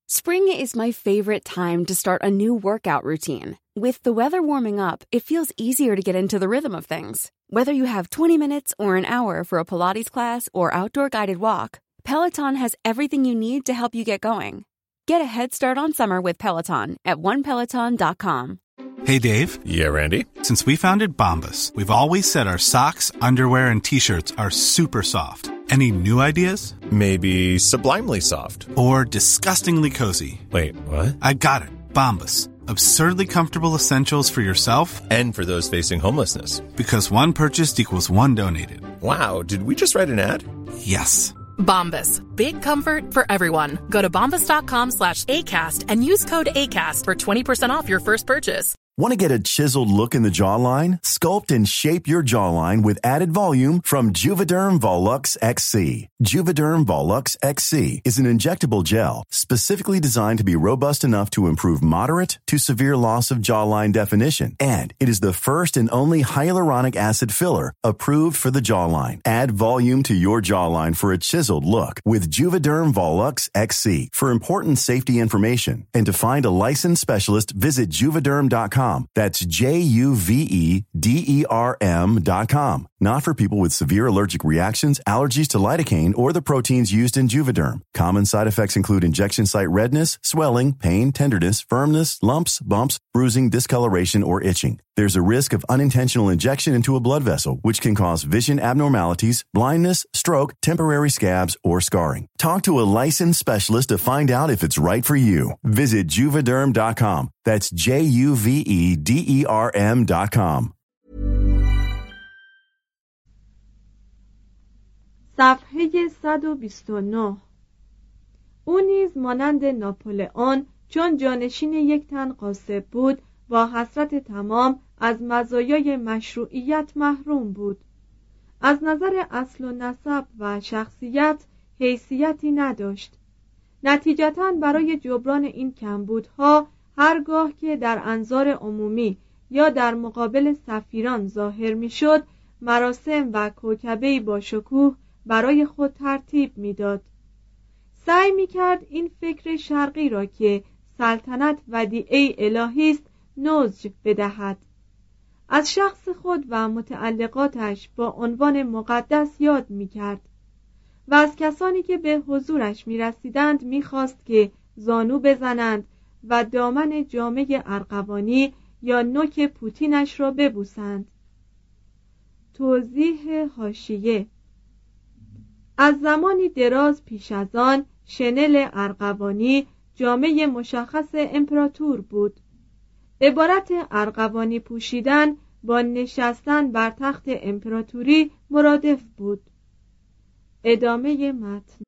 Spring is my favorite time to start a new workout routine. With the weather warming up, it feels easier to get into the rhythm of things. Whether you have 20 minutes or an hour for a Pilates class or outdoor guided walk, Peloton has everything you need to help you get going. Get a head start on summer with Peloton at onepeloton.com. Hey, Dave. Yeah, Randy. Since we founded Bombas, we've always said our socks, underwear, and T-shirts are super soft. Any new ideas? Maybe sublimely soft. Or disgustingly cozy. Wait, what? I got it. Bombas. Absurdly comfortable essentials for yourself and for those facing homelessness. Because one purchased equals one donated. Wow, did we just write an ad? Yes. Bombas. Big comfort for everyone. Go to bombas.com/ACAST and use code ACAST for 20% off your first purchase. Want to get a chiseled look in the jawline? Sculpt and shape your jawline with added volume from Juvederm Volux XC. Juvederm Volux XC is an injectable gel specifically designed to be robust enough to improve moderate to severe loss of jawline definition. And it is the first and only hyaluronic acid filler approved for the jawline. Add volume to your jawline for a chiseled look with Juvederm Volux XC. For important safety information and to find a licensed specialist, visit Juvederm.com. That's Juvederm.com. Not for people with severe allergic reactions, allergies to lidocaine, or the proteins used in Juvederm. Common side effects include injection site redness, swelling, pain, tenderness, firmness, lumps, bumps, bruising, discoloration, or itching. There's a risk of unintentional injection into a blood vessel, which can cause vision abnormalities, blindness, stroke, temporary scabs, or scarring. Talk to a licensed specialist to find out if it's right for you. Visit Juvederm.com. That's Juvederm.com. صفحه 129. او نیز مانند ناپلئون چون جانشین یک تن غاصب بود با حسرت تمام از مزایای مشروعیت محروم بود. از نظر اصل و نسب و شخصیت حیثیتی نداشت. نتیجتاً برای جبران این کمبودها هرگاه که در انظار عمومی یا در مقابل سفیران ظاهر میشد، مراسم و کوکبه‌ای با شکوه برای خود ترتیب میداد. سعی میکرد این فکر شرقی را که سلطنت ودیعه الهی است نضج بدهد. از شخص خود و متعلقاتش با عنوان مقدس یاد میکرد و از کسانی که به حضورش میرسیدند میخواست که زانو بزنند و دامن جامه ارغوانی یا نوک پوتینش را ببوسند. توضیح حاشیه: از زمانی دراز پیش از آن شنل ارغوانی جامه مشخص امپراتور بود. عبارت ارغوانی پوشیدن با نشستن بر تخت امپراتوری مرادف بود. ادامه متن.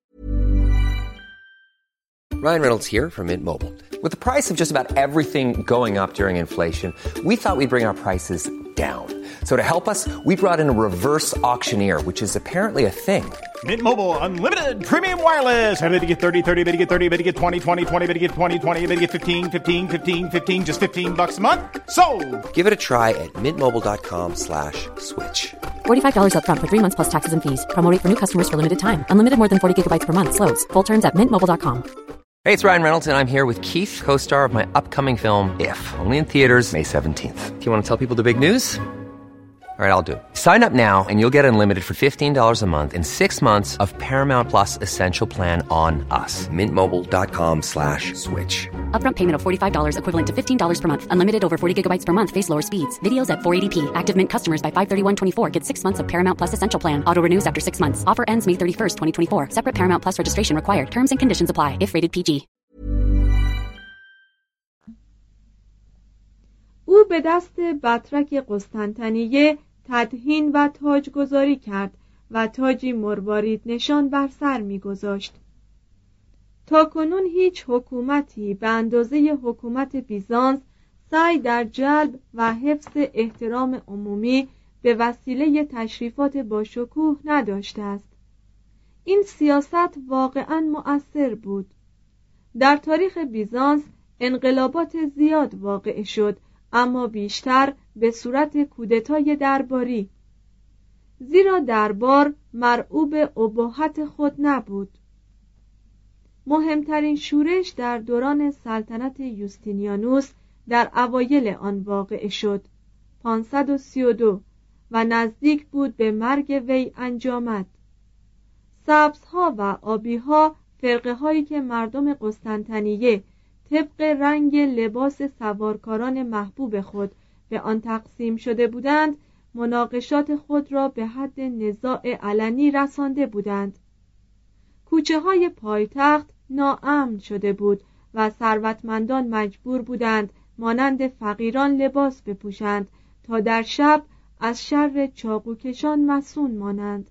Ryan Reynolds here from Mint Mobile. With the price of just about everything going up during inflation, we thought we'd bring our prices down. So to help us, we brought in a reverse auctioneer, which is apparently a thing. Mint Mobile Unlimited Premium Wireless. How to get 30, 30, bit to get 30, bit to get 20, 20, 20, bit to get 20, 20, bit to get 15, 15, 15, 15, just $15 a month? Sold! Give it a try at mintmobile.com/switch. $45 up front for 3 months plus taxes and fees. Promo rate for new customers for limited time. Unlimited more than 40 gigabytes per month. Slows full terms at mintmobile.com. Hey, it's Ryan Reynolds, and I'm here with Keith, co-star of my upcoming film, If, only in theaters May 17th. Do you want to tell people the big news? All right, I'll do it. Sign up now and you'll get unlimited for $15 a month and 6 months of Paramount Plus Essential Plan on us. mintmobile.com/switch. Upfront payment of $45 equivalent to $15 per month. Unlimited over 40 gigabytes per month. Face lower speeds. Videos at 480p. Active Mint customers by 531.24 get 6 months of Paramount Plus Essential Plan. Auto renews after 6 months. Offer ends May 31st, 2024. Separate Paramount Plus registration required. Terms and conditions apply if rated PG. او به دست بطرک قسطنطنیه تدهین و تاجگذاری کرد و تاجی مروارید نشان بر سر می‌گذاشت. تاکنون هیچ حکومتی به اندازه حکومت بیزانس سعی در جلب و حفظ احترام عمومی به وسیله تشریفات با شکوه نداشته است. این سیاست واقعاً مؤثر بود. در تاریخ بیزانس انقلابات زیاد واقع شد، اما بیشتر به صورت کودتای درباری، زیرا دربار مرعوب اباحت خود نبود. مهمترین شورش در دوران سلطنت یوستینیانوس در اوایل آن واقع شد 532 و نزدیک بود به مرگ وی انجامد. سبزها و آبیها فرقه هایی که مردم قسطنطنیه طبق رنگ لباس سوارکاران محبوب خود به آن تقسیم شده بودند مناقشات خود را به حد نزاع علنی رسانده بودند. کوچه های پایتخت ناامن شده بود و ثروتمندان مجبور بودند مانند فقیران لباس بپوشند تا در شب از شر چاقوکشان مصون مانند.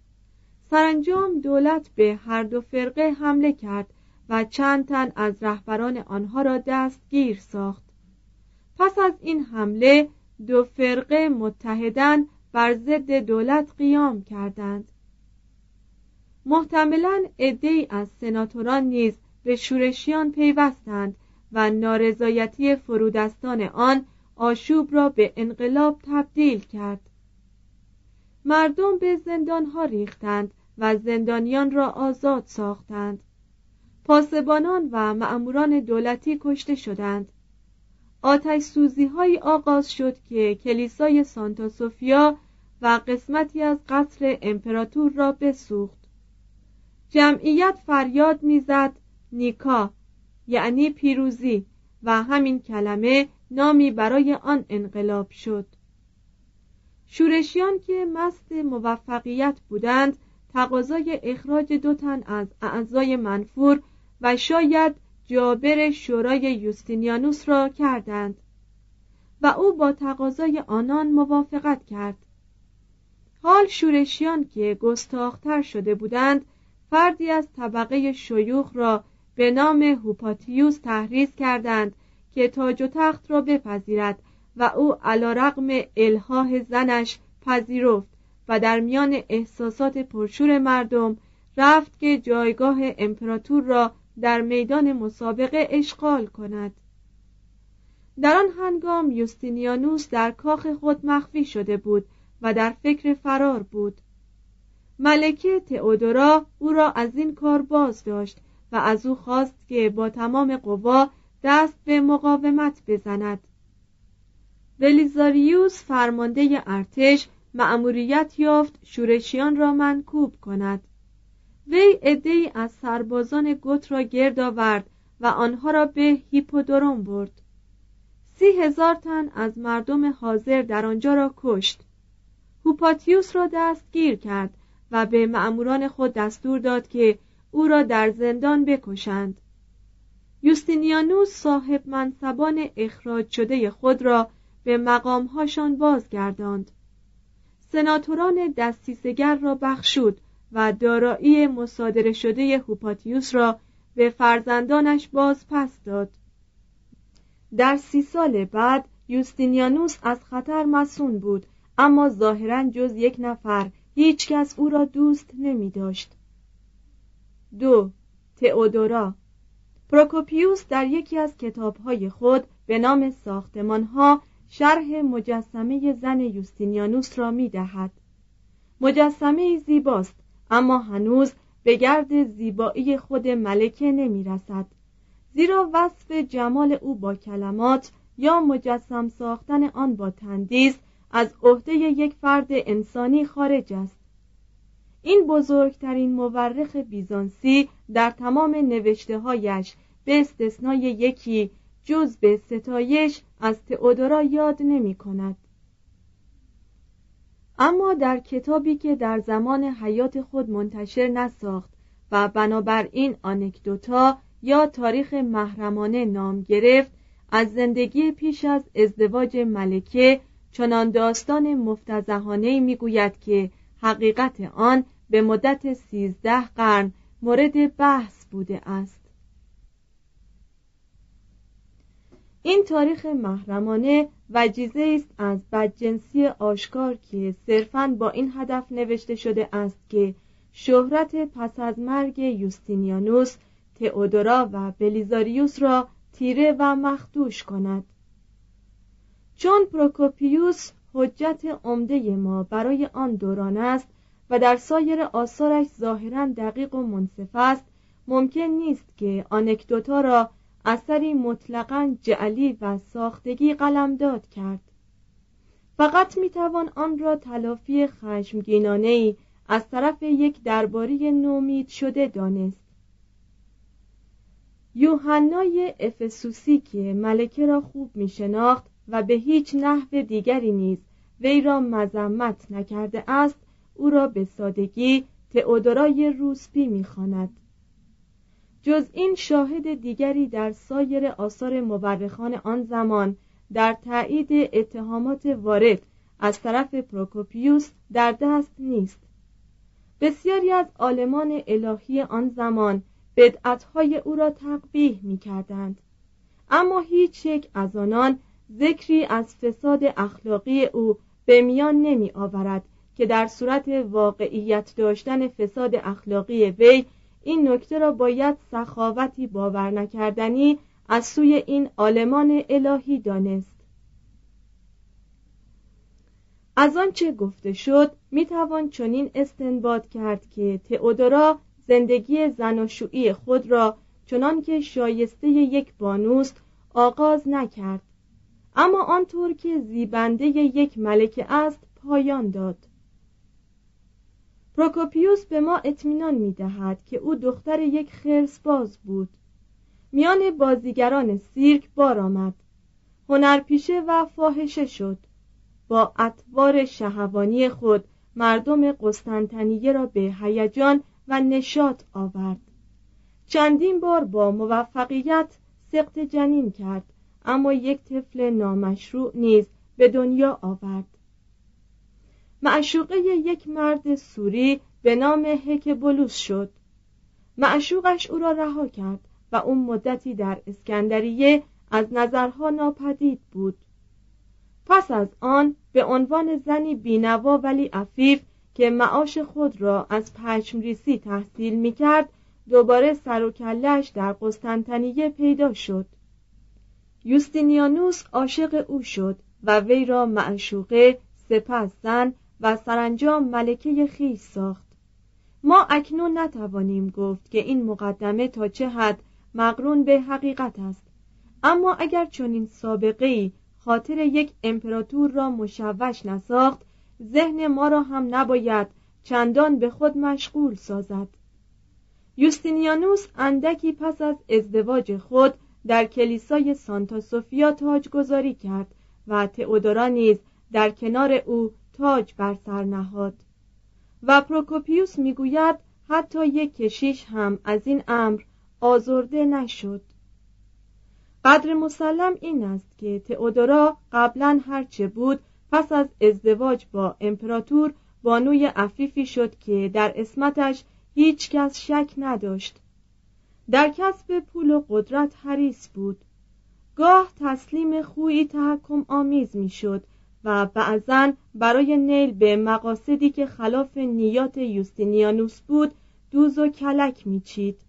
سرانجام دولت به هر دو فرقه حمله کرد و چند تن از رهبران آنها را دستگیر ساخت. پس از این حمله دو فرقه متحداً بر ضد دولت قیام کردند. محتملاً عده‌ای از سناتوران نیز به شورشیان پیوستند و نارضایتی فرودستان آن آشوب را به انقلاب تبدیل کرد. مردم به زندانها ریختند و زندانیان را آزاد ساختند. پاسبانان و مأموران دولتی کشته شدند. آتش سوزی‌هایی آغاز شد که کلیسای سانتا سوفیا و قسمتی از قصر امپراتور را بسوخت. جمعیت فریاد می‌زد نیکا، یعنی پیروزی، و همین کلمه نامی برای آن انقلاب شد. شورشیان که مست موفقیت بودند تقاضای اخراج 2 تن از اعضای منفور و شاید جابر شورای یوستینیانوس را کردند و او با تقاضای آنان موافقت کرد. حال شورشیان که گستاخ‌تر شده بودند فردی از طبقه شیوخ را به نام هوپاتیوس تحریض کردند که تاج و تخت را بپذیرد و او علی‌رغم الحاح زنش پذیرفت و در میان احساسات پرشور مردم رفت که جایگاه امپراتور را در میدان مسابقه اشغال کند. در آن هنگام یوستینیانوس در کاخ خود مخفی شده بود و در فکر فرار بود. ملکه تئودورا او را از این کار باز داشت و از او خواست که با تمام قوا دست به مقاومت بزند. بلیزاریوس فرمانده ارتش مأموریت یافت شورشیان را منکوب کند. وی عده‌ای از سربازان گوت را گرد آورد و آنها را به هیپودروم برد. 30,000 تن از مردم حاضر در آنجا را کشت. هوپاتیوس را دستگیر کرد و به مأموران خود دستور داد که او را در زندان بکشند. یوستینیانوس صاحب منصبان اخراج شده خود را به مقامهاشان بازگرداند. سناتوران دستیسگر را بخشود و دارایی مصادره شده هوپاتیوس را به فرزندانش باز پس داد. در 30 سال بعد یوستینیانوس از خطر مصون بود، اما ظاهراً جز 1 نفر هیچ کس او را دوست نمی داشت. 2. تئودورا. پروکوپیوس در یکی از کتاب‌های خود به نام ساختمان‌ها شرح مجسمه زن یوستینیانوس را می دهد. مجسمه زیباست، اما هنوز به گرد زیبایی خود ملکه نمی رسد، زیرا وصف جمال او با کلمات یا مجسم ساختن آن با تندیس از عهده یک فرد انسانی خارج است. این بزرگترین مورخ بیزانسی در تمام نوشته‌هایش به استثنای یکی جز به ستایش از تئودورا یاد نمی کند. اما در کتابی که در زمان حیات خود منتشر نساخت و بنابراین آنکدوتا یا تاریخ محرمانه نام گرفت، از زندگی پیش از ازدواج ملکه چنان داستان مفتضحانه‌ای میگوید که حقیقت آن به مدت 13 قرن مورد بحث بوده است. این تاریخ محرمانه وجیزه است از بدجنسی آشکار که صرفاً با این هدف نوشته شده است که شهرت پس از مرگ یوستینیانوس، تئودورا و بلیزاریوس را تیره و مخدوش کند. چون پروکوپیوس حجت عمده ما برای آن دوران است و در سایر آثارش ظاهراً دقیق و منصف است، ممکن نیست که آنکدوتا را اثری مطلقاً جعلی و ساختگی قلمداد کرد. فقط میتوان آن را تلافی خشمگینانه‌ای از طرف یک درباری نومید شده دانست. یوحنای افسوسی که ملکه را خوب میشناخت و به هیچ نحو دیگری نیز وی را مذمت نکرده است، او را به سادگی تئودورای روسپی می‌خواند. جز این شاهد دیگری در سایر آثار مورخان آن زمان در تایید اتهامات وارد از طرف پروکوپیوس در دست نیست. بسیاری از عالمان الهی آن زمان بدعت‌های او را تقبیح می‌کردند، اما هیچ یک از آنان ذکری از فساد اخلاقی او به میان نمی‌آورد که در صورت واقعیت داشتن فساد اخلاقی وی این نکته را باید سخاوتی باور نکردنی از سوی این عالمان الهی دانست. از آنچه گفته شد میتوان چنین استنباط کرد که تئودورا زندگی زناشویی خود را چنان که شایسته یک بانوست آغاز نکرد، اما آنطور که زیبنده یک ملکه است پایان داد. پروکوپیوس به ما اطمینان می‌دهد که او دختر یک خرس‌باز بود. میان بازیگران سیرک بار آمد، هنرپیشه و فاحشه شد. با اطوار شهوانی خود مردم قسطنطنیه را به هیجان و نشاط آورد. چندین بار با موفقیت سقط جنین کرد، اما یک طفل نامشروع نیز به دنیا آورد. معشوقه یک مرد سوری به نام هکبولوس شد. معشوقش او را رها کرد و اون مدتی در اسکندریه از نظرها ناپدید بود. پس از آن به عنوان زنی بینوا ولی عفیف که معاش خود را از پشمریسی تحصیل می‌کرد دوباره سر و کله‌اش در قسطنطنیه پیدا شد. یوستینیانوس عاشق او شد و وی را معشوقه، سپس زن و سرانجام ملکه خویش ساخت. ما اکنون نتوانیم گفت که این مقدمه تا چه حد مقرون به حقیقت است، اما اگر چنین سابقه‌ای خاطر یک امپراتور را مشوش نساخت، ذهن ما را هم نباید چندان به خود مشغول سازد. یوستینیانوس اندکی پس از ازدواج خود در کلیسای سانتا سوفیا تاجگذاری کرد و تئودورا نیز در کنار او تاج بر سر نهاد و پروکوپیوس میگوید حتی یک کشیش هم از این امر آزرده نشد. قدر مسلم این است که تئودورا قبلا هرچه بود پس از ازدواج با امپراتور بانوی عفیفی شد که در عصمتش هیچ کس شک نداشت. در کسب پول و قدرت حریص بود. گاه تسلیم خویی تحکم آمیز می شد و بعضاً برای نیل به مقاصدی که خلاف نیات یوستینیانوس بود دوز و کلک می چید.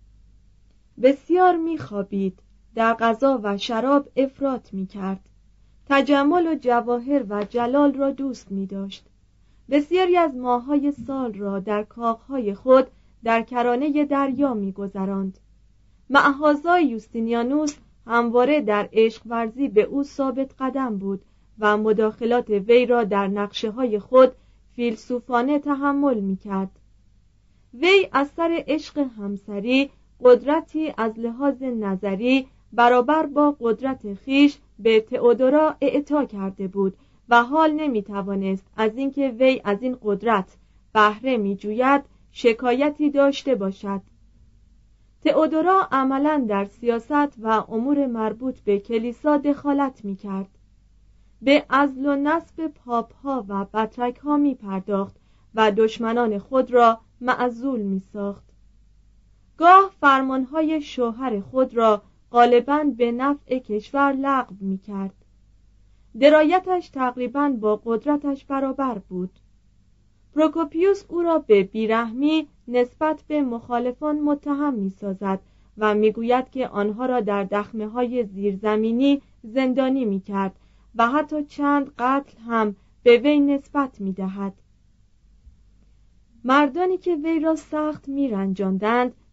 بسیار می خوابید، در غذا و شراب افراط می کرد. تجمل و جواهر و جلال را دوست می داشت. بسیاری از ماه‌های سال را در کاخهای خود در کرانه دریا می گذراند. معهازا یوستینیانوس همواره در عشق ورزی به او ثابت قدم بود و مداخلات وی را در نقشه‌های خود فیلسوفانه تحمل می کرد. وی از سر عشق همسری قدرتی از لحاظ نظری برابر با قدرت خیش به تئودورا اعطا کرده بود و حال نمی توانست از اینکه وی از این قدرت بهره می جوید شکایتی داشته باشد. تئودورا عملاً در سیاست و امور مربوط به کلیسا دخالت می کرد. به عزل و نصب پاپ‌ها و بطرک‌ها می پرداخت و دشمنان خود را معزول می ساخت. گاه فرمانهای شوهر خود را غالباً به نفع کشور لغو می کرد. درایتش تقریباً با قدرتش برابر بود. پروکوپیوس او را به بیرحمی نسبت به مخالفان متهم می سازد و می گوید که آنها را در دخمه‌های زیرزمینی زندانی می کرد و حتی چند قتل هم به وی نسبت می دهد. مردانی که وی را سخت می رنجاندند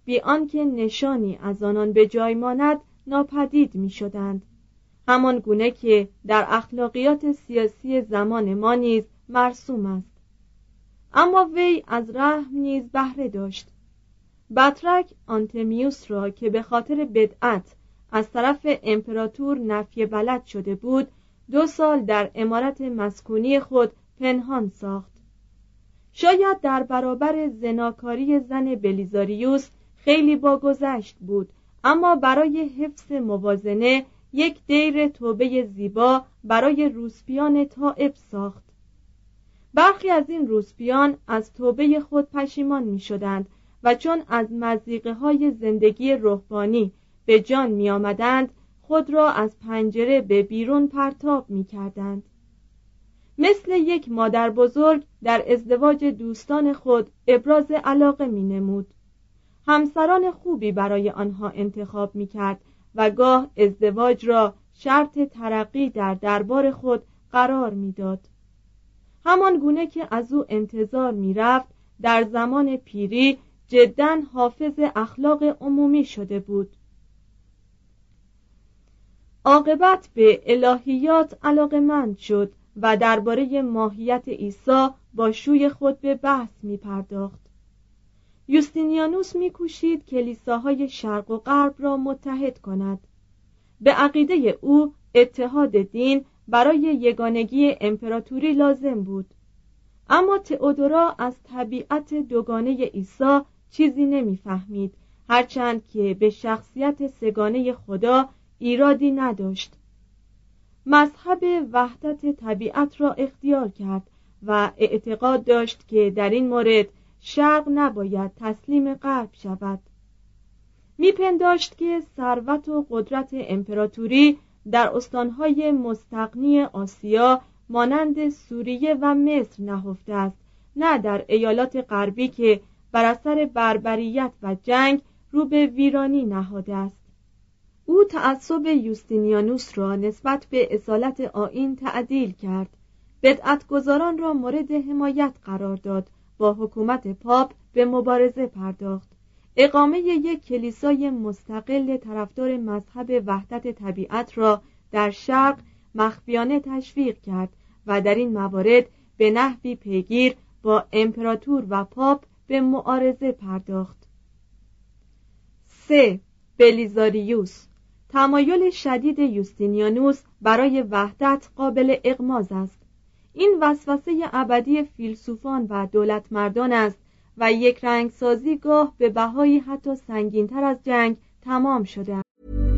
بی آنکه نشانی از آنان به جای ماند ناپدید می شدند، همان گونه که در اخلاقیات سیاسی زمان ما نیز مرسوم است. اما وی از رحم نیز بهره داشت. بطرک آنتمیوس را که به خاطر بدعت از طرف امپراتور نفی بلد شده بود 2 سال در عمارت مسکونی خود پنهان ساخت. شاید در برابر زناکاری زن بلیزاریوس خیلی باگذشت بود، اما برای حفظ موازنه یک دیر توبه زیبا برای روسپیان تائب ساخت. برخی از این روسپیان از توبه خود پشیمان می شدند و چون از مضیقه های زندگی رهبانی به جان می آمدند خود را از پنجره به بیرون پرتاب می کردند. مثل یک مادر بزرگ در ازدواج دوستان خود ابراز علاقه می نمود. همسران خوبی برای آنها انتخاب می کرد و گاه ازدواج را شرط ترقی در دربار خود قرار می داد. همان گونه که از او انتظار می رفت در زمان پیری جداً حافظ اخلاق عمومی شده بود. عاقبت به الهیات علاقه‌مند شد و درباره ماهیت عیسی با شوی خود به بحث می پرداخت. یوستینیانوس می کوشید کلیساهای شرق و غرب را متحد کند. به عقیده او اتحاد دین برای یگانگی امپراتوری لازم بود. اما تئودورا از طبیعت دوگانه عیسی چیزی نمی‌فهمید، هرچند که به شخصیت سگانه خدا ایرادی نداشت. مذهب وحدت طبیعت را اختیار کرد و اعتقاد داشت که در این مورد شرق نباید تسلیم غرب شود. میپنداشت که ثروت و قدرت امپراتوری در استانهای مستغنی آسیا مانند سوریه و مصر نهفته است، نه در ایالات غربی که بر اثر بربریت و جنگ رو به ویرانی نهاده است. او تعصب یوستینیانوس را نسبت به اصالت آیین تعدیل کرد، بدعتگزاران را مورد حمایت قرار داد، با حکومت پاپ به مبارزه پرداخت، اقامه یک کلیسای مستقل طرفدار مذهب وحدت طبیعت را در شرق مخفیانه تشویق کرد و در این موارد به نحوی پیگیر با امپراتور و پاپ به معارضه پرداخت. 3. بلیزاریوس. تمایل شدید یوستینیانوس برای وحدت قابل اغماض است. این وسوسه ابدی فیلسوفان و دولتمردان است و یک رنگسازی گاه به بهایی حتی سنگین‌تر از جنگ تمام شده است.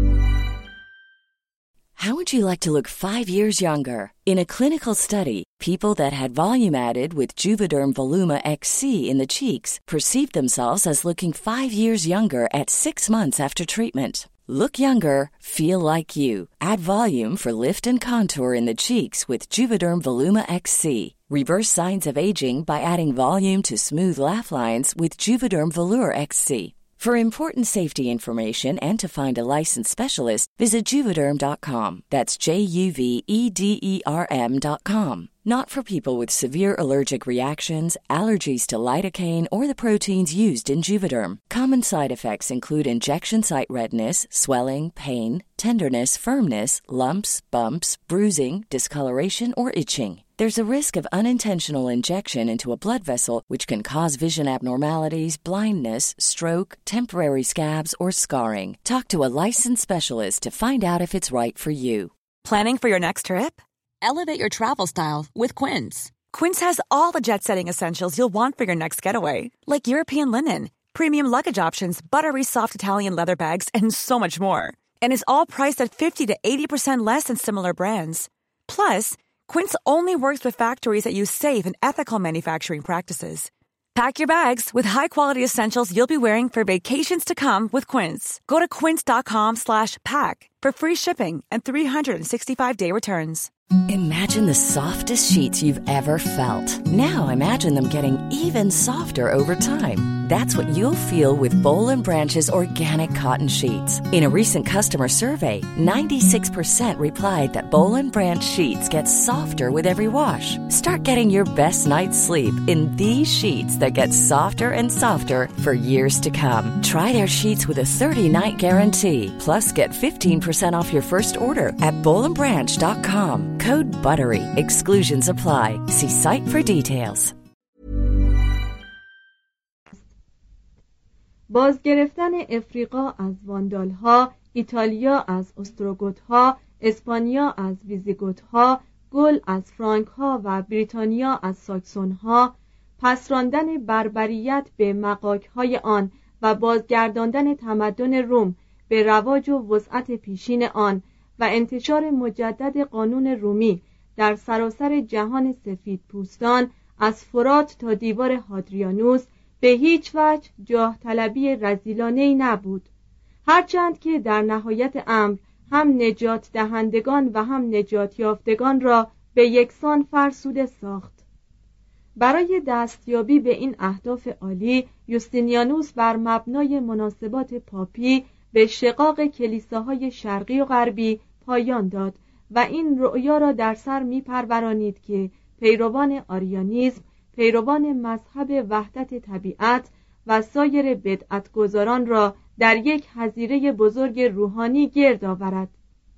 How would you like to look 5 years younger? In a clinical study, people that had volume added with Juvederm Voluma XC in the cheeks perceived themselves as looking 5 years younger at 6 months after treatment. Look younger, feel like you. Add volume for lift and contour in the cheeks with Juvederm Voluma XC. Reverse signs of aging by adding volume to smooth laugh lines with Juvederm Volure XC. For important safety information and to find a licensed specialist, visit Juvederm.com. That's JUVEDERM.com. Not for people with severe allergic reactions, allergies to lidocaine, or the proteins used in Juvederm. Common side effects include injection site redness, swelling, pain, tenderness, firmness, lumps, bumps, bruising, discoloration, or itching. There's a risk of unintentional injection into a blood vessel, which can cause vision abnormalities, blindness, stroke, temporary scabs, or scarring. Talk to a licensed specialist to find out if it's right for you. Planning for your next trip? Elevate your travel style with Quince. Quince has all the jet-setting essentials you'll want for your next getaway, like European linen, premium luggage options, buttery soft Italian leather bags, and so much more. And is all priced at 50 to 80% less than similar brands. Plus, Quince only works with factories that use safe and ethical manufacturing practices. Pack your bags with high-quality essentials you'll be wearing for vacations to come with Quince. Go to quince.com/pack for free shipping and 365-day returns. Imagine the softest sheets you've ever felt. Now imagine them getting even softer over time. That's what you'll feel with Boll & Branch's organic cotton sheets. In a recent customer survey, 96% replied that Boll & Branch sheets get softer with every wash. Start getting your best night's sleep in these sheets that get softer and softer for years to come. Try their sheets with a 30-night guarantee. Plus, get 15% off your first order at bollandbranch.com. Code BUTTERY. Exclusions apply. See site for details. بازگرفتن افریقا از واندالها، ایتالیا از استروگوتها، اسپانیا از ویزیگوتها، گل از فرانکها و بریتانیا از ساکسونها، پس راندن بربریت به مغاک‌های آن و بازگرداندن تمدن روم به رواج و وسعت پیشین آن و انتشار مجدد قانون رومی در سراسر جهان سفید پوستان از فرات تا دیوار هادریانوس به هیچ وجه جاه طلبی رذیلانه‌ای نبود، هرچند که در نهایت امر هم نجات دهندگان و هم نجات یافتگان را به یکسان فرسوده ساخت. برای دستیابی به این اهداف عالی، یوستینیانوس بر مبنای مناسبات پاپی به شقاق کلیساهای شرقی و غربی پایان داد و این رؤیا را در سر می‌پرورانید که پیروان آریانیسم، پیروان مذهب وحدت طبیعت و سایر بدعتگزاران را در یک حظیره بزرگ روحانی گرد آورد.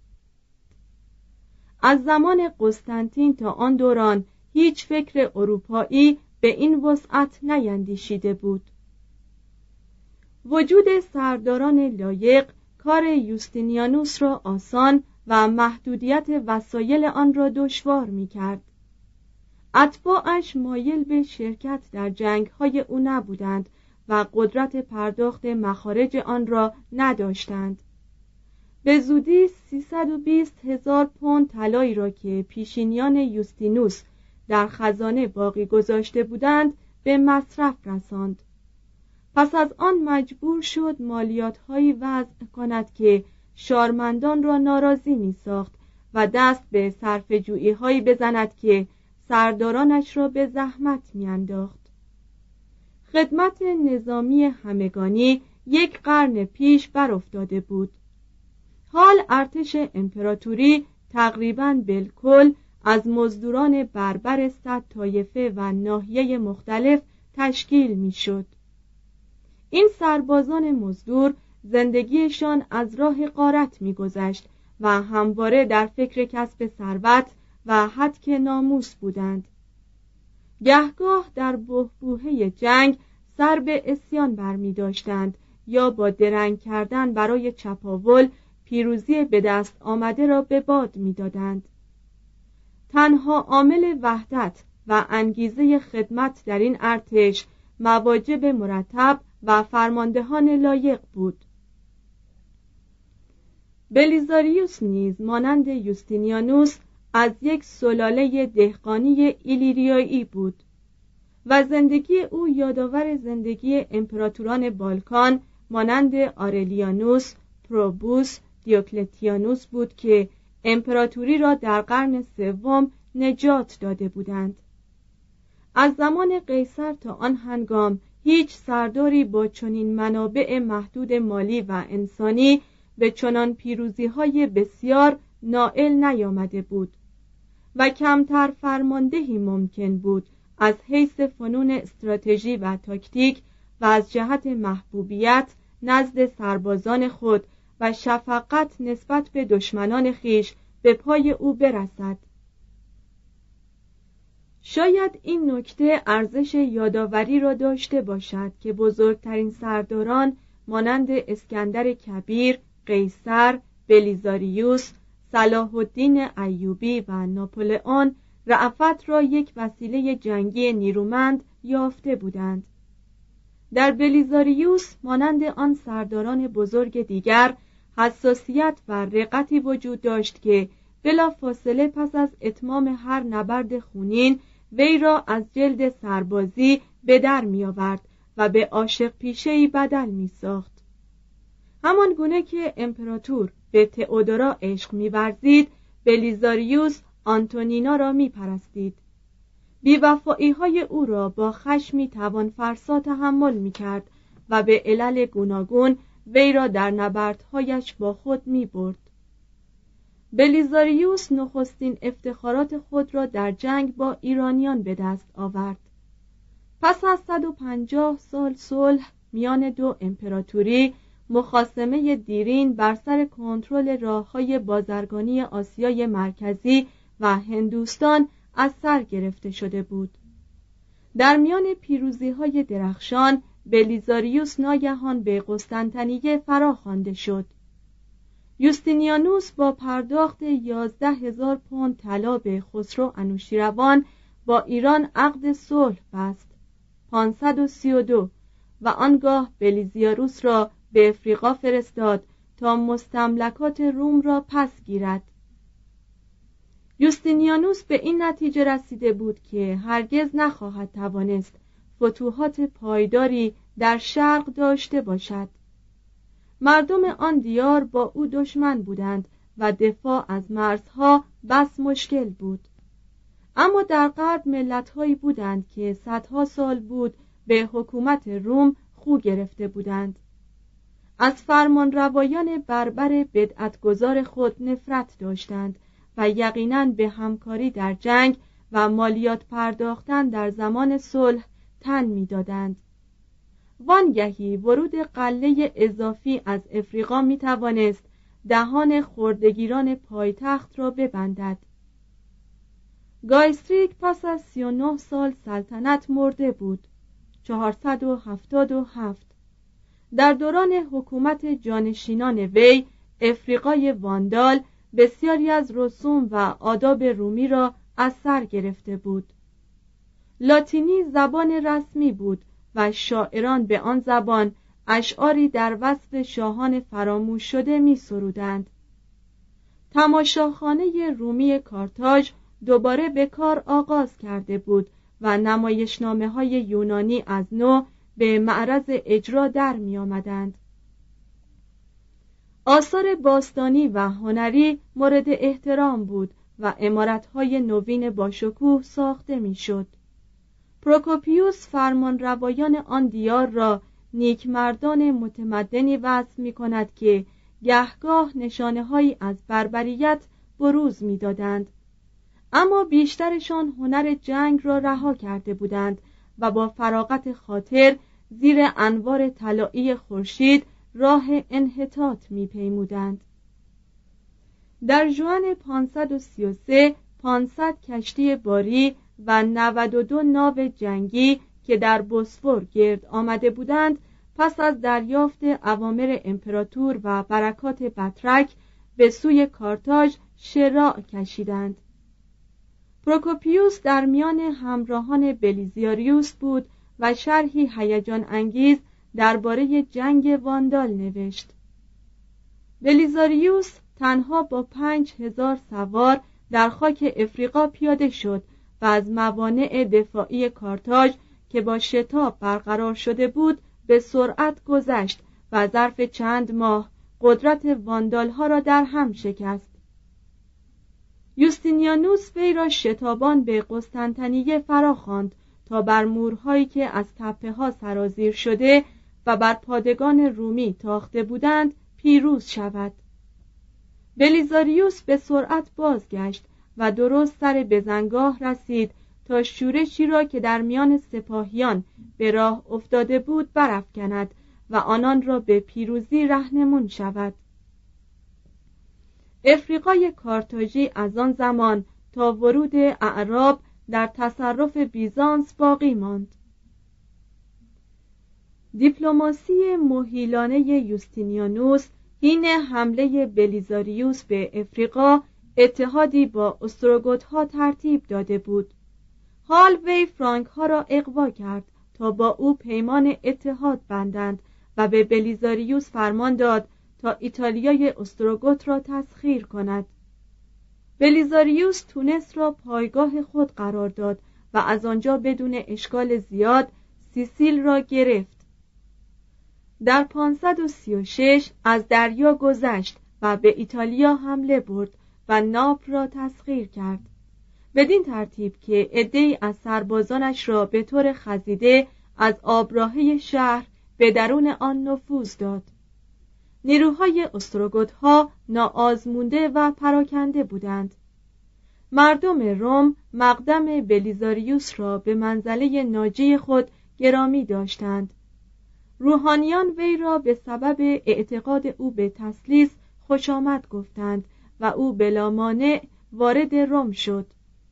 از زمان قسطنطین تا آن دوران هیچ فکر اروپایی به این وسعت نیندیشیده بود. وجود سرداران لایق کار یوستینیانوس را آسان و محدودیت وسایل آن را دشوار می‌کرد. اتباعش مایل به شرکت در جنگ‌های او نبودند و قدرت پرداخت مخارج آن را نداشتند. به زودی 320,000 پوند طلایی را که پیشینیان یوستینوس در خزانه باقی گذاشته بودند به مصرف رساند. پس از آن مجبور شد مالیات‌هایی وضع کند که شارمندان را ناراضی می‌ساخت و دست به صرفه‌جویی‌هایی بزند که سردارانش را به زحمت می‌انداخت. خدمت نظامی همگانی یک قرن پیش برافتاده بود. حال ارتش امپراتوری تقریباً بالکل از مزدوران بربر 100 طایفه و ناحیه مختلف تشکیل می‌شد. این سربازان مزدور زندگیشان از راه غارت می‌گذشت و همواره در فکر کسب ثروت و هتک ناموس بودند. گهگاه در بحبوحه جنگ سر به عصیان برمی‌داشتند یا با درنگ کردن برای چپاول پیروزی به دست آمده را به باد می‌دادند. تنها عامل وحدت و انگیزه خدمت در این ارتش مواجب مرتب و فرماندهان لایق بود. بلیزاریوس نیز مانند یوستینیانوس از یک سلاله دهقانی ایلیریایی بود و زندگی او یادآور زندگی امپراتوران بالکان مانند آرلیانوس، پروبوس، دیوکلتیانوس بود که امپراتوری را در قرن سوم نجات داده بودند. از زمان قیصر تا آن هنگام هیچ سرداری با چنین منابع محدود مالی و انسانی به چنان پیروزی‌های بسیار نائل نیامده بود و کمتر فرماندهی ممکن بود از حیث فنون استراتژی و تاکتیک و از جهت محبوبیت نزد سربازان خود و شفقت نسبت به دشمنان خیش به پای او برسد. شاید این نکته ارزش یادآوری را داشته باشد که بزرگترین سرداران مانند اسکندر کبیر، قیصر، بلیزاریوس، صلاح الدین ایوبی و ناپلئون رأفت را یک وسیله جنگی نیرومند یافته بودند. در بلیزاریوس مانند آن سرداران بزرگ دیگر حساسیت و رقتی وجود داشت که بلافاصله پس از اتمام هر نبرد خونین وی را از جلد سربازی به در می آورد و به عاشق پیشه‌ای بدل می ساخت. همان گونه که امپراتور به تئودورا عشق می ورزید، بلیزاریوس آنتونینا را می پرستید. بی‌وفایی‌های او را با خشمی توان‌فرسا تحمل می‌کرد و به علل گوناگون وی را در نبردهایش با خود می‌برد. بلیزاریوس نخستین افتخارات خود را در جنگ با ایرانیان به دست آورد. پس از 150 سال صلح میان دو امپراتوری، مخاصمه دیرین بر سر کنترل راه‌های بازرگانی آسیای مرکزی و هندوستان از سر گرفته شده بود. در میان پیروزی‌های درخشان، بلیزاریوس ناگهان به قسطنطنیه فراخوانده شد. یوستینیانوس با پرداخت 11,000 پوند طلا به خسرو انوشیروان با ایران عقد صلح بست 532 و آنگاه بلیزاریوس را به افریقا فرستاد تا مستملکات روم را پس گیرد. یوستینیانوس به این نتیجه رسیده بود که هرگز نخواهد توانست فتوحات پایداری در شرق داشته باشد. مردم آن دیار با او دشمن بودند و دفاع از مرزها بس مشکل بود. اما در غرب ملت‌هایی بودند که صدها سال بود به حکومت روم خو گرفته بودند. از فرمانروایان بربر بدعتگذار خود نفرت داشتند و یقیناً به همکاری در جنگ و مالیات پرداختن در زمان صلح تن می‌دادند. وانگهی ورود قله اضافی از افریقا می توانست دهان خردگیران پایتخت را ببندد. گایستریک پس از 39 سال سلطنت مرده بود 477. در دوران حکومت جانشینان وی افریقای واندال بسیاری از رسوم و آداب رومی را از سر گرفته بود. لاتینی زبان رسمی بود و شاعران به آن زبان اشعاری در وصف شاهان فراموش شده می سرودند. تماشاخانه رومی کارتاژ دوباره به کار آغاز کرده بود و نمایشنامه‌های یونانی از نو به معرض اجرا در می آمدند. آثار باستانی و هنری مورد احترام بود و عمارت‌های نوین باشکوه ساخته می شد. پروکوپیوس فرمانروایان آن دیار را نیکمردان متمدنی وصف می کند که گهگاه نشانه‌هایی از بربریت بروز می دادند. اما بیشترشان هنر جنگ را رها کرده بودند و با فراغت خاطر زیر انوار طلایی خورشید راه انحطاط می پیمودند. در ژوئن 533 500 کشتی باری و 92 ناو جنگی که در بوسفور گرد آمده بودند پس از دریافت اوامر امپراتور و برکات بطرک به سوی کارتاژ شراع کشیدند. پروکوپیوس در میان همراهان بلیزاریوس بود و شرحی هیجان انگیز درباره جنگ واندال نوشت. بلیزاریوس تنها با 5,000 سوار در خاک افریقا پیاده شد و از موانع دفاعی کارتاژ که با شتاب برقرار شده بود به سرعت گذشت و ظرف چند ماه قدرت واندالها را در هم شکست. یوستینیانوس وی را شتابان به قسطنطنیه فراخواند تا بر مورهایی که از تپه‌ها سرازیر شده و بر پادگان رومی تاخته بودند پیروز شود. بلیزاریوس به سرعت بازگشت و درست سر بزنگاه رسید تا شورشی را که در میان سپاهیان به راه افتاده بود برافکند و آنان را به پیروزی رهنمون شود. افریقای کارتاژی از آن زمان تا ورود اعراب در تصرف بیزانس باقی ماند. دیپلماسی مهیلانه یوستینیانوس حین حمله بلیزاریوس به افریقا اتحادی با استروگوت‌ها ترتیب داده بود. حال وی فرانک‌ها را اغوا کرد تا با او پیمان اتحاد بندند و به بلیزاریوس فرمان داد تا ایتالیای استروگوت را تسخیر کند. بلیزاریوس تونس را پایگاه خود قرار داد و از آنجا بدون اشکال زیاد سیسیل را گرفت. در 536 از دریا گذشت و به ایتالیا حمله برد و ناپل را تسخیر کرد. بدین ترتیب که عده‌ای از سربازانش را به طور خزیده از آبراهه شهر به درون آن نفوذ داد. نیروهای استروگوت‌ها ناآزموده و پراکنده بودند. مردم روم مقدم بلیزاریوس را به منزله ناجی خود گرامی داشتند. روحانیان وی را به سبب اعتقاد او به تثلیث خوش آمد گفتند و او بلا مانع وارد روم شد.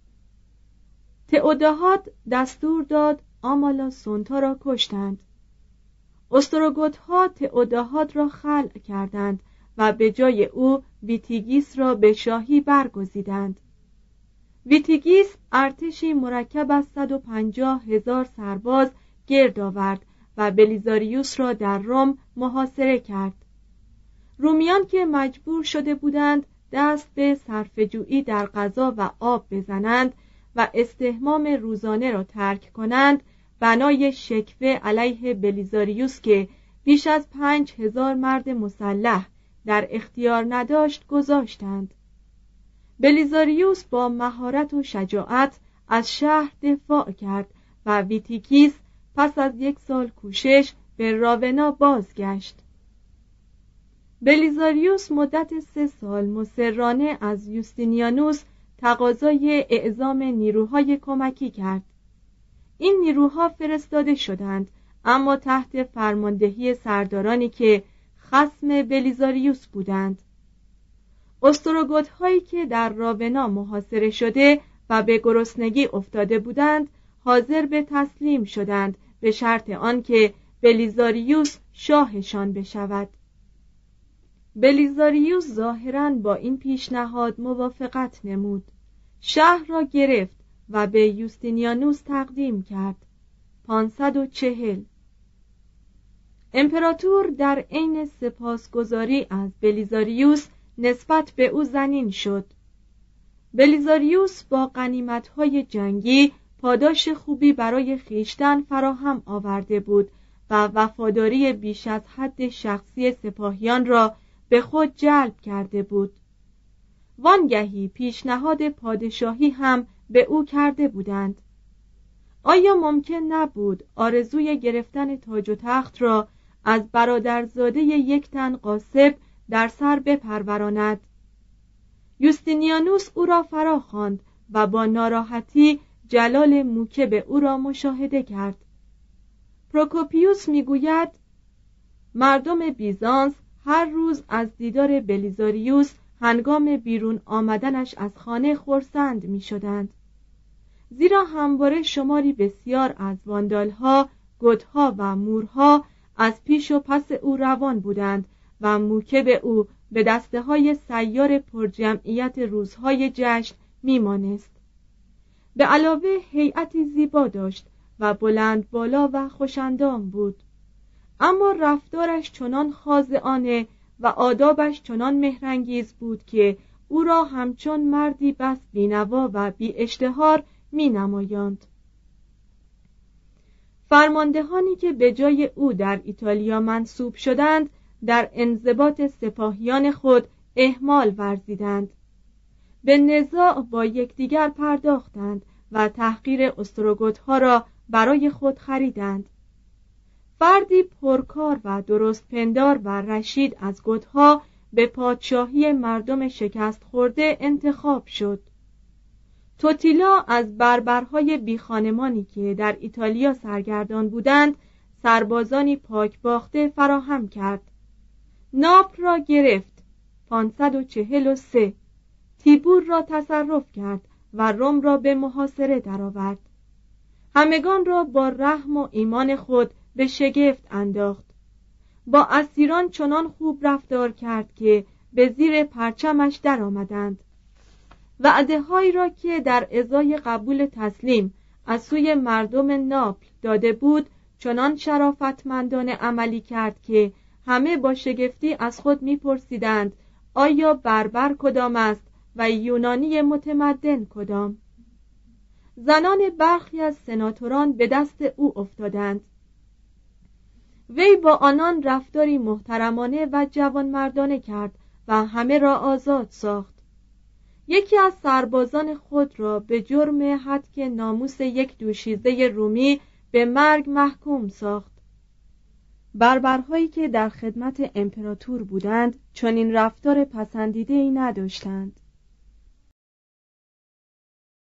تئوداهات دستور داد آمالاسونتا را کشتند. استروگوت‌ها تئوداهات را خلع کردند و به جای او ویتیگیس را به شاهی برگزیدند. ویتیگیس ارتشی مرکب از 150,000 سرباز گرد آورد و بلیزاریوس را در روم محاصره کرد. رومیان که مجبور شده بودند دست به صرفه‌جویی در غذا و آب بزنند و استحمام روزانه را ترک کنند، بنای شکوه علیه بلیزاریوس که بیش از 5,000 مرد مسلح در اختیار نداشت گذاشتند. بلیزاریوس با مهارت و شجاعت از شهر دفاع کرد و ویتیگیس پس از 1 سال کوشش به راونا بازگشت. بلیزاریوس مدت 3 سال مصرانه از یوستینیانوس تقاضای اعزام نیروهای کمکی کرد. این نیروها فرستاده شدند، اما تحت فرماندهی سردارانی که خصم بلیزاریوس بودند. استروگوت‌هایی که در راونا محاصره شده و به گرسنگی افتاده بودند حاضر به تسلیم شدند به شرط آنکه بلیزاریوس شاهشان بشود. بلیزاریوس ظاهراً با این پیشنهاد موافقت نمود. شهر را گرفت و به یوستینیانوس تقدیم کرد. 540. امپراتور در عین سپاسگزاری از بلیزاریوس نسبت به او زنین شد. بلیزاریوس با غنیمت‌های جنگی پاداش خوبی برای خیشتن فراهم آورده بود و وفاداری بیش از حد شخصی سپاهیان را به خود جلب کرده بود. وانگهی پیشنهاد پادشاهی هم به او کرده بودند. آیا ممکن نبود آرزوی گرفتن تاج و تخت را از برادرزاده یک تن غاصب در سر بپروراند؟ یوستینیانوس او را فرا خواند و با ناراحتی جلال موکب او را مشاهده کرد. پروکوپیوس میگوید مردم بیزانس هر روز از دیدار بلیزاریوس هنگام بیرون آمدنش از خانه خرسند می شدند، زیرا همواره شماری بسیار از واندالها، گدها و مورها از پیش و پس او روان بودند و موکب او به دسته های سیار پرجمعیت روزهای جشن می مانست. به علاوه هیئتی زیبا داشت و بلند بالا و خوشندام بود، اما رفتارش چنان خاضعانه و آدابش چنان مهرانگیز بود که او را همچون مردی بس بینوا و بی اشتهار می نمایاند. فرماندهانی که به جای او در ایتالیا منصوب شدند در انضباط سپاهیان خود اهمال ورزیدند، به نزاع با یکدیگر پرداختند و تحقیر استروگوت‌ها را برای خود خریدند. فردی پرکار و درست پندار و رشید از گدها به پادشاهی مردم شکست خورده انتخاب شد. توتیلا از بربرهای بیخانمانی که در ایتالیا سرگردان بودند سربازانی پاک باخته فراهم کرد. ناپل را گرفت. 543. تیبور را تصرف کرد و روم را به محاصره درآورد. همگان را با رحم و ایمان خود به شگفت انداخت. با اسیران چنان خوب رفتار کرد که به زیر پرچمش درآمدند. وعده‌هایی را که در ازای قبول تسلیم از سوی مردم ناپل داده بود چنان شرافتمندانه عملی کرد که همه با شگفتی از خود می‌پرسیدند آیا بربر کدام است و یونانی متمدن کدام؟ زنان برخی از سناتوران به دست او افتادند. وی با آنان رفتاری محترمانه و جوانمردانه کرد و همه را آزاد ساخت. یکی از سربازان خود را به جرم هتک ناموس یک دوشیزه رومی به مرگ محکوم ساخت. بربرهایی که در خدمت امپراتور بودند چنین رفتار پسندیده‌ای نداشتند.